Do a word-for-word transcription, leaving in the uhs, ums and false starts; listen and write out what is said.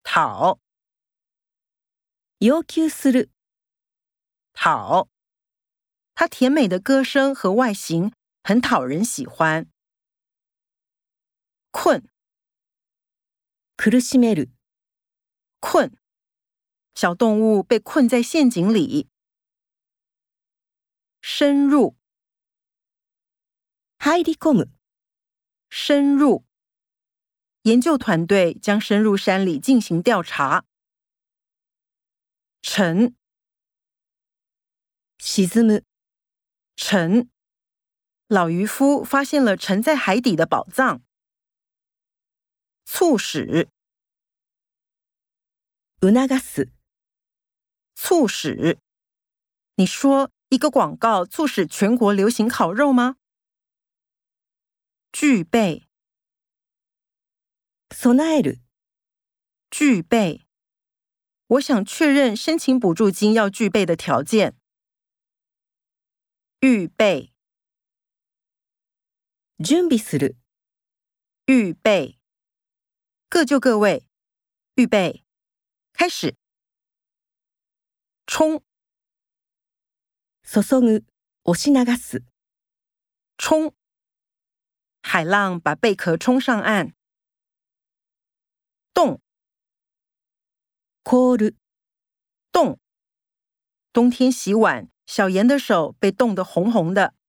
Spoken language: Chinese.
讨要求する、 讨，它甜美的歌声和外形很讨人喜欢。困苦しめる、 困，小动物被困在陷阱里。深入入り込む、 深入，研究团队将深入山里进行调查。沉沈む、 沉，老渔夫发现了沉在海底的宝藏。促使促す、 促使，你说一个广告促使全国流行烤肉吗？具备備える、 具备，我想确认申请补助金要具备的条件。预备準備する、 预备，各就各位，预备，开始。冲注ぐ、押し流す、 冲，海浪把贝壳冲上岸。冻凍る、 冻，冬天洗碗，小妍的手被冻得红红的。